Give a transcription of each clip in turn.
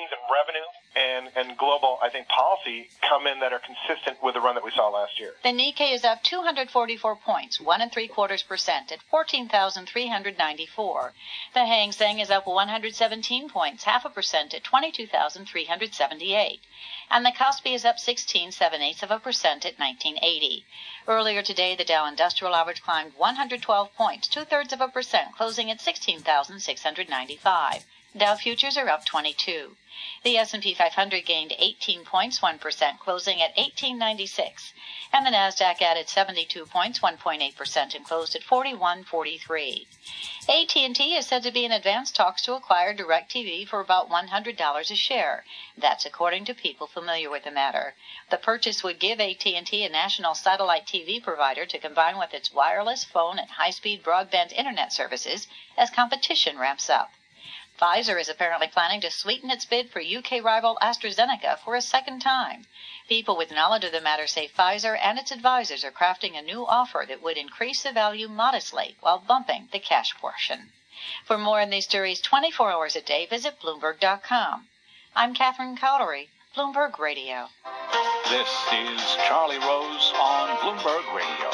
earnings and revenue and global, I think, policy come in that are consistent with the run that we saw last year. The Nikkei is up 244 points, 1.75% at 14,394. The Hang Seng is up 117 points, 0.5% at 22,378. And the Kospi is up 16.78% at 1980. Earlier today, the Dow Industrial Average climbed 112 points, 0.2%, closing at 16,695. Dow futures are up 22. The S&P 500 gained 18 points, 1%, closing at 1896. And the Nasdaq added 72 points, 1.8%, and closed at 4143. AT&T is said to be in advanced talks to acquire DirecTV for about $100 a share. That's according to people familiar with the matter. The purchase would give AT&T a national satellite TV provider to combine with its wireless, phone, and high-speed broadband internet services as competition ramps up. Pfizer is apparently planning to sweeten its bid for UK rival AstraZeneca for a second time. People with knowledge of the matter say Pfizer and its advisors are crafting a new offer that would increase the value modestly while bumping the cash portion. For more on these stories 24 hours a day, visit Bloomberg.com. I'm Catherine Cowdery, Bloomberg Radio. This is Charlie Rose on Bloomberg Radio.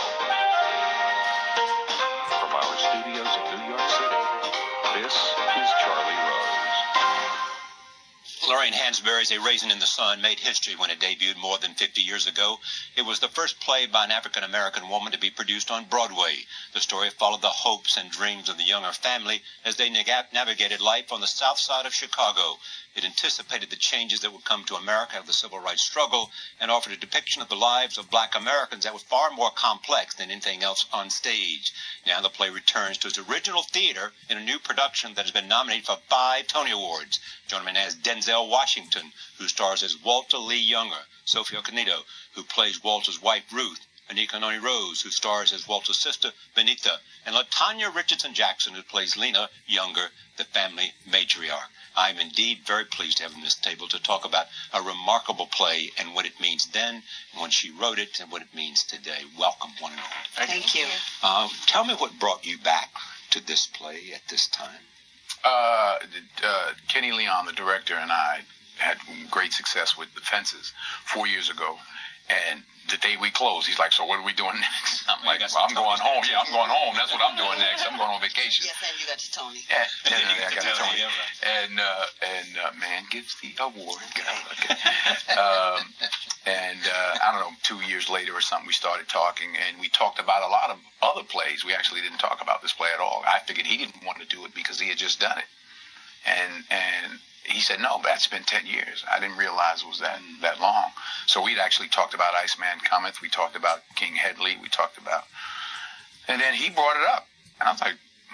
From our studios in New York City, this is Charlie Rose. Lorraine Hansberry's A Raisin in the Sun made history when it debuted more than 50 years ago. It was the first play by an African-American woman to be produced on Broadway. The story followed the hopes and dreams of the Younger family as they navigated life on the south side of Chicago. It anticipated the changes that would come to America after the civil rights struggle and offered a depiction of the lives of black Americans that was far more complex than anything else on stage. Now the play returns to its original theater in a new production that has been nominated for 5 Tony Awards. Joining me now is Denzel Washington, who stars as Walter Lee Younger, Sophia Canito, who plays Walter's wife Ruth, Anika Noni Rose, who stars as Walter's sister Benita, and LaTanya Richardson Jackson, who plays Lena Younger, the family matriarch. I'm indeed very pleased to have him at this table to talk about a remarkable play and what it means then, when she wrote it, and what it means today. Welcome, one and all. Thank you. Tell me what brought you back to this play at this time. Kenny Leon, the director, and I had great success with The Fences 4 years ago. And the day we closed, he's like, so what are we doing next? I'm like, well, I'm going home. Yeah, I'm going home. That's what I'm doing next. I'm going on vacation. Yes, and you got your Tony. Yeah, I got Tony. And man gives the award. Okay. I don't know, 2 years later or something, we started talking, and we talked about a lot of other plays. We actually didn't talk about this play at all. I figured he didn't want to do it because he had just done it. And he said, no, that's been 10 years. I didn't realize it was that long. So we'd actually talked about Iceman Cometh. We talked about King Hedley. We talked about... And then he brought it up. And I was like,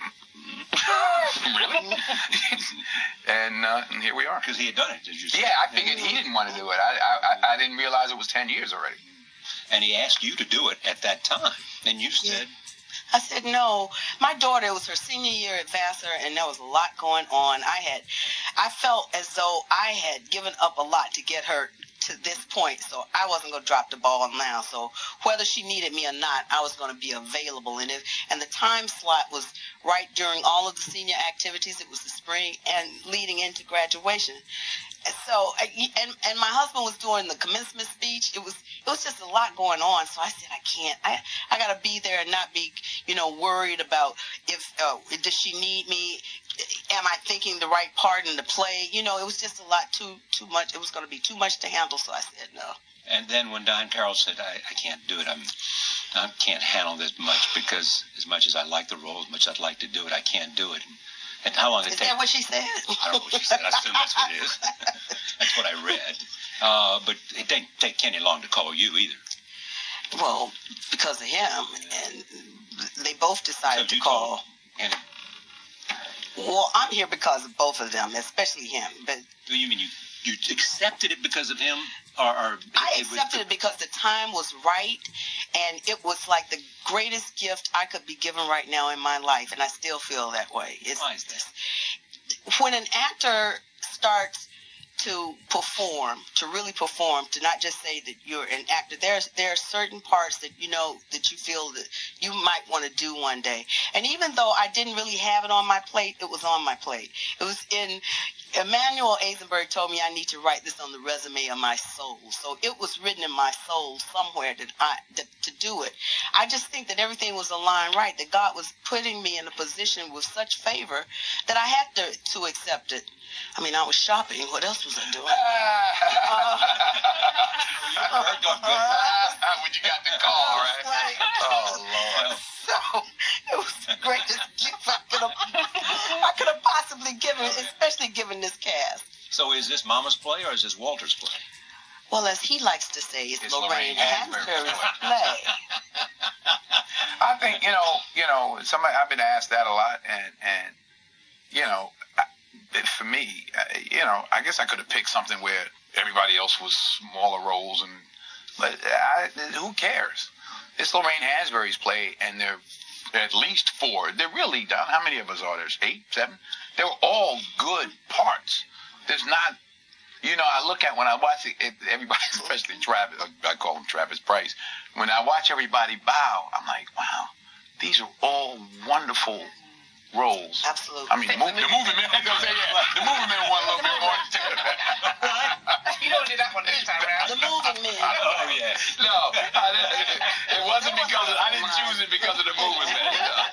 really? and here we are. Because he had done it, did you say? Yeah, I figured he didn't want to do it. I didn't realize it was 10 years already. And he asked you to do it at that time. And you said... I said, no. My daughter, it was her senior year at Vassar, and there was a lot going on. I felt as though I had given up a lot to get her to this point, so I wasn't going to drop the ball now. So whether she needed me or not, I was going to be available. And the time slot was right during all of the senior activities. It was the spring and leading into graduation. So, and my husband was doing the commencement speech. It was just a lot going on. So I said, I can't. I got to be there and not be, worried about if does she need me? Am I thinking the right part in the play? It was just a lot too much. It was going to be too much to handle. So I said no. And then when Diane Carroll said, I can't do it. I can't handle this much because as much as I like the role, as much as I'd like to do it, I can't do it. And how long did it take? Is that what she said? I don't know what she said. I assume that's what it is. That's what I read. But it didn't take Kenny long to call you either. Well, because of him. And they both decided to call. Kenny. Well, I'm here because of both of them, especially him. But you mean you accepted it because of him? I accepted it because the time was right, and it was like the greatest gift I could be given right now in my life, and I still feel that way. Why is that? When an actor starts to perform, to really perform, to not just say that you're an actor, there are certain parts that that you feel that you might want to do one day. And even though I didn't really have it on my plate, it was on my plate. It was in Emmanuel Eisenberg told me I need to write this on the resume of my soul. So it was written in my soul somewhere to do it. I just think that everything was aligned right, that God was putting me in a position with such favor that I had to accept it. I mean, I was shopping. What else was I doing? When you got the call, right? Oh, Lord. So it was the greatest gift I could have possibly given, especially given this cast. So is this Mama's play or is this Walter's play? Well, as he likes to say, it's Lorraine Hansberry's Hansberry's play. I think, somebody, I've been asked that a lot, and for me, I guess I could have picked something where everybody else was smaller roles, but who cares? It's Lorraine Hansberry's play, and there are at least 4. They're really done. How many of us are there? 8, 7? They're all good parts. There's not, I look at when I watch everybody, especially Travis, I call him Travis Price. When I watch everybody bow, I'm like, wow, these are all wonderful roles. Absolutely. I mean, the movie man, the movie man won a little bit more. You don't do that one this time around. The movie man. Oh, yeah. No, it wasn't because I didn't choose it because of the movie man.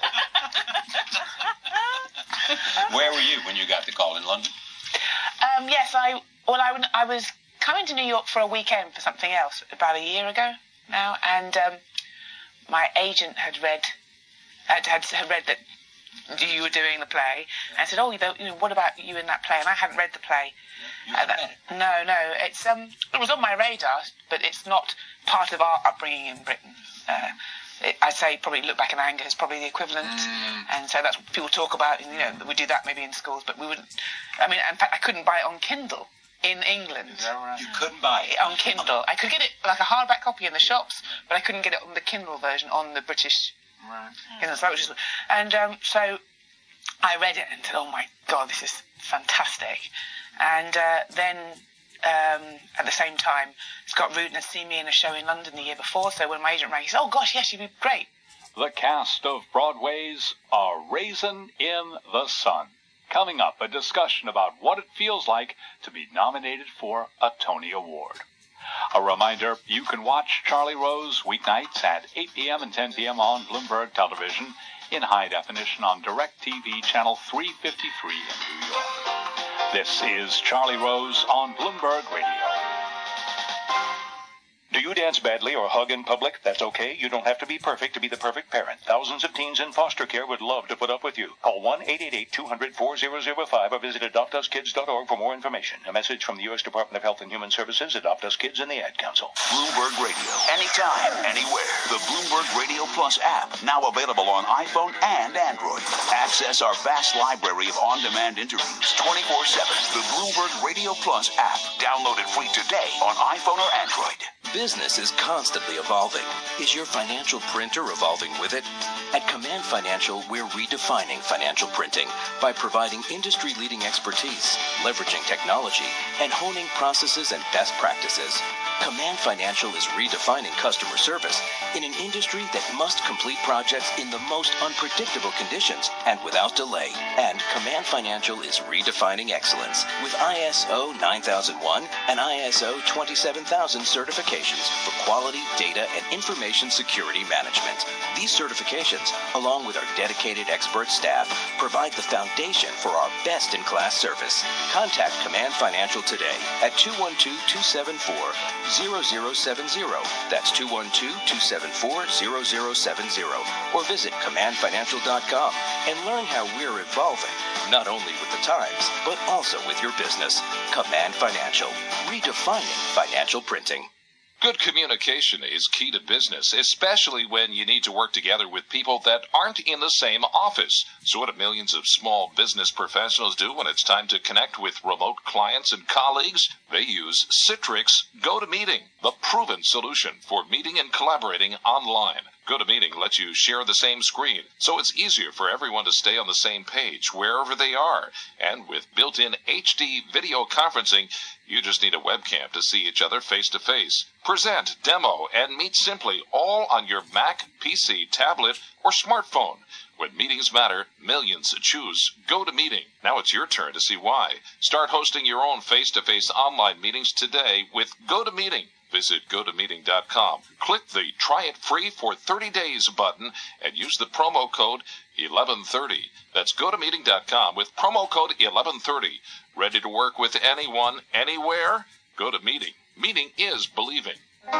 Where were you when you got the call in London? Yes, I was coming to New York for a weekend for something else about a year ago now, and my agent had read that you were doing the play, and said, what about you in that play? And I hadn't read the play. You hadn't read it? No, it was on my radar, but it's not part of our upbringing in Britain. I'd say probably Look Back in Anger is probably the equivalent, and so that's what people talk about, and we do that maybe in schools, but we wouldn't. I mean, in fact, I couldn't buy it on Kindle in England. Is that right? You couldn't buy it? On Kindle. I could get it like a hardback copy in the shops, but I couldn't get it on the Kindle version on the British. Right. So I read it and said, oh my God, this is fantastic. And then at the same time, Scott Rudin had seen me in a show in London the year before, so when my agent rang, he said, oh gosh, yes, you'd be great. The cast of Broadway's A Raisin in the Sun. Coming up, a discussion about what it feels like to be nominated for a Tony Award. A reminder, you can watch Charlie Rose weeknights at 8 p.m. and 10 p.m. on Bloomberg Television in high definition on DirecTV Channel 353 in New York. This is Charlie Rose on Bloomberg Radio. Do you dance badly or hug in public? That's okay. You don't have to be perfect to be the perfect parent. Thousands of teens in foster care would love to put up with you. Call 1-888-200-4005 or visit AdoptUsKids.org for more information. A message from the U.S. Department of Health and Human Services, Adopt Us Kids, and the Ad Council. Bloomberg Radio. Anytime, anywhere. The Bloomberg Radio Plus app, now available on iPhone and Android. Access our vast library of on-demand interviews 24/7. The Bloomberg Radio Plus app. Download it free today on iPhone or Android. Business is constantly evolving. Is your financial printer evolving with it? At Command Financial, we're redefining financial printing by providing industry-leading expertise, leveraging technology, and honing processes and best practices. Command Financial is redefining customer service in an industry that must complete projects in the most unpredictable conditions and without delay. And Command Financial is redefining excellence with ISO 9001 and ISO 27000 certifications for quality, data, and information security management. These certifications, along with our dedicated expert staff, provide the foundation for our best-in-class service. Contact Command Financial today at 212-274-0070. That's 212-274-0070. Or visit commandfinancial.com and learn how we're evolving, not only with the times, but also with your business. Command Financial, redefining financial printing. Good communication is key to business, especially when you need to work together with people that aren't in the same office. So what do millions of small business professionals do when it's time to connect with remote clients and colleagues? They use Citrix GoToMeeting, the proven solution for meeting and collaborating online. GoToMeeting lets you share the same screen, so it's easier for everyone to stay on the same page wherever they are. And with built-in HD video conferencing, you just need a webcam to see each other face-to-face. Present, demo, and meet simply all on your Mac, PC, tablet, or smartphone. When meetings matter, millions choose GoToMeeting. Now it's your turn to see why. Start hosting your own face-to-face online meetings today with GoToMeeting. Visit GoToMeeting.com. Click the Try It Free for 30 Days button and use the promo code 1130. That's GoToMeeting.com with promo code 1130. Ready to work with anyone, anywhere? GoToMeeting. Meeting is believing. New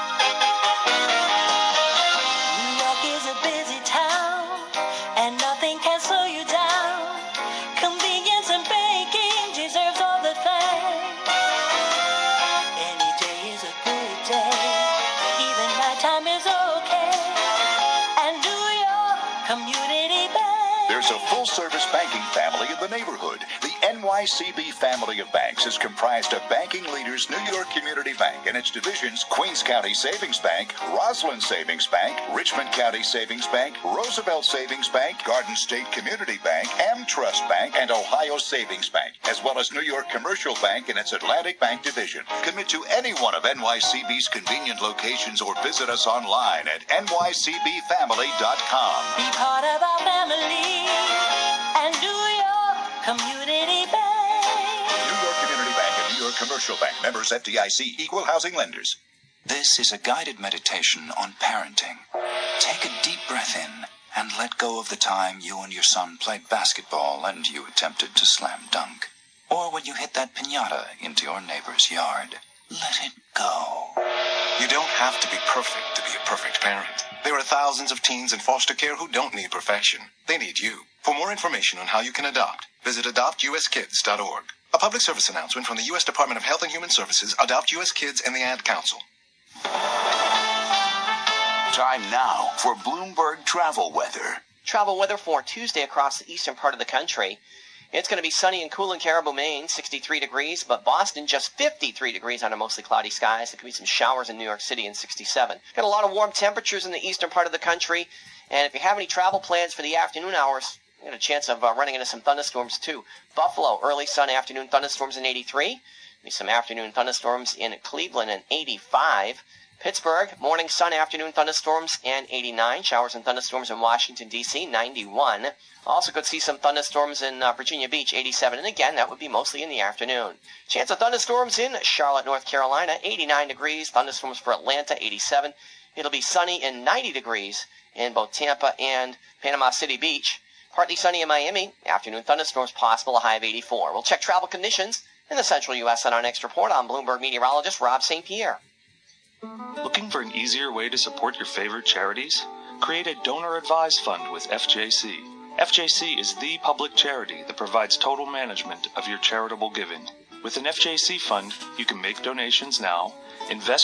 York is a busy town, and nothing can slow you down. Convenience and banking deserves all the thanks. Any day is a good day, even nighttime is okay. And New York Community Bank. There's a full-service banking family in the neighborhood. The NYCB family of banks is comprised of banking leaders New York Community Bank and its divisions Queens County Savings Bank, Roslyn Savings Bank, Richmond County Savings Bank, Roosevelt Savings Bank, Garden State Community Bank, AmTrust Bank, and Ohio Savings Bank, as well as New York Commercial Bank and its Atlantic Bank division. Commit to any one of NYCB's convenient locations or visit us online at nycbfamily.com. Be part of our family and New York Community Bank. New York Community Bank and New York Commercial Bank, members FDIC, equal housing lenders. This is a guided meditation on parenting. Take a deep breath in and let go of the time you and your son played basketball and you attempted to slam dunk. Or when you hit that piñata into your neighbor's yard. Let it go. You don't have to be perfect to be a perfect parent. There are thousands of teens in foster care who don't need perfection. They need you. For more information on how you can adopt, visit adoptuskids.org. A public service announcement from the U.S. Department of Health and Human Services, Adopt U.S. Kids, and the Ad Council. Time now for Bloomberg travel weather. Travel weather for Tuesday across the eastern part of the country. It's going to be sunny and cool in Caribou, Maine, 63 degrees, but Boston just 53 degrees under mostly cloudy skies. There could be some showers in New York City in 67. Got a lot of warm temperatures in the eastern part of the country, and if you have any travel plans for the afternoon hours, you got a chance of running into some thunderstorms too. Buffalo, early sun, afternoon thunderstorms in 83. Maybe some afternoon thunderstorms in Cleveland in 85. Pittsburgh, morning sun, afternoon thunderstorms, and 89. Showers and thunderstorms in Washington, D.C., 91. Also could see some thunderstorms in Virginia Beach, 87. And again, that would be mostly in the afternoon. Chance of thunderstorms in Charlotte, North Carolina, 89 degrees. Thunderstorms for Atlanta, 87. It'll be sunny and 90 degrees in both Tampa and Panama City Beach. Partly sunny in Miami. Afternoon thunderstorms possible, a high of 84. We'll check travel conditions in the central U.S. on our next report. I'm Bloomberg meteorologist Rob St. Pierre. Looking for an easier way to support your favorite charities? Create a donor-advised fund with FJC. FJC is the public charity that provides total management of your charitable giving. With an FJC fund, you can make donations now, invest